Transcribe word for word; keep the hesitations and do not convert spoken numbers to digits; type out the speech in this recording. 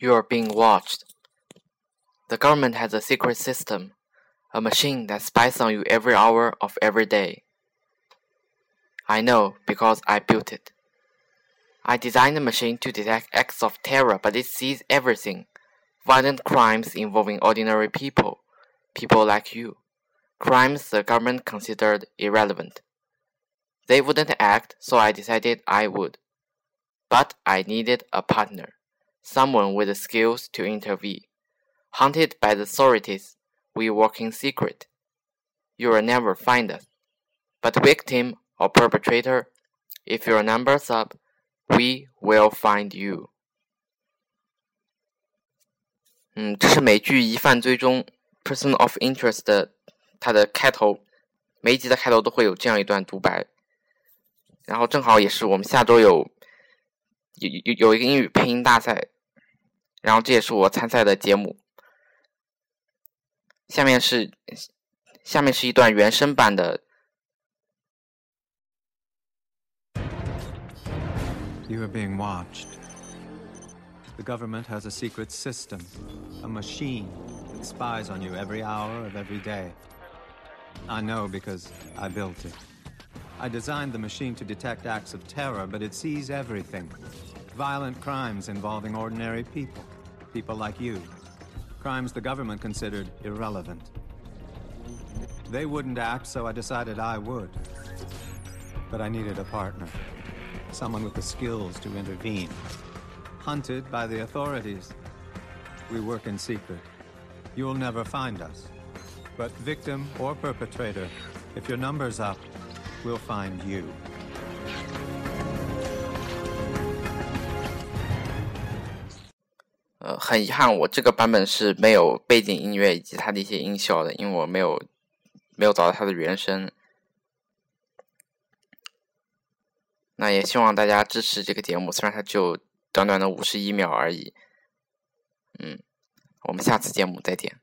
You are being watched. The government has a secret system, a machine that spies on you every hour of every day. I know because I built it. I designed the machine to detect acts of terror, but it sees everything. Violent crimes involving ordinary people, people like you. Crimes the government considered irrelevant. They wouldn't act, so I decided I would. But I needed a partner, someone with the skills to intervene. Hunted by the authorities, we work in secret. You will never find us. But victim or perpetrator, if your number's up, we will find you. 嗯，这是美剧《疑犯追踪》 Person of Interest 的它的开头，每一集的开头都会有这样一段独白。然后正好也是我们下周有有有有一个英语配音大赛，然后这也是我参赛的节目。下面是下面是一段原声版的。 You are being watched. The government has a secret system, a machine that spies on you every hour of every day. I know because I built it. I designed the machine to detect acts of terror, but it sees everything. Violent crimes involving ordinary people, people like you. Crimes the government considered irrelevant. They wouldn't act, so I decided I would. But I needed a partner, someone with the skills to intervene. Hunted by the authorities. We work in secret. You'll never find us. But victim or perpetrator, if your number's up, we'll find you. 呃，很遗憾，我这个版本是没有背景音乐以及它的一些音效的，因为我没有没有找到它的原声。那也希望大家支持这个节目，虽然它就短短的五十一秒而已。嗯，我们下次节目再见。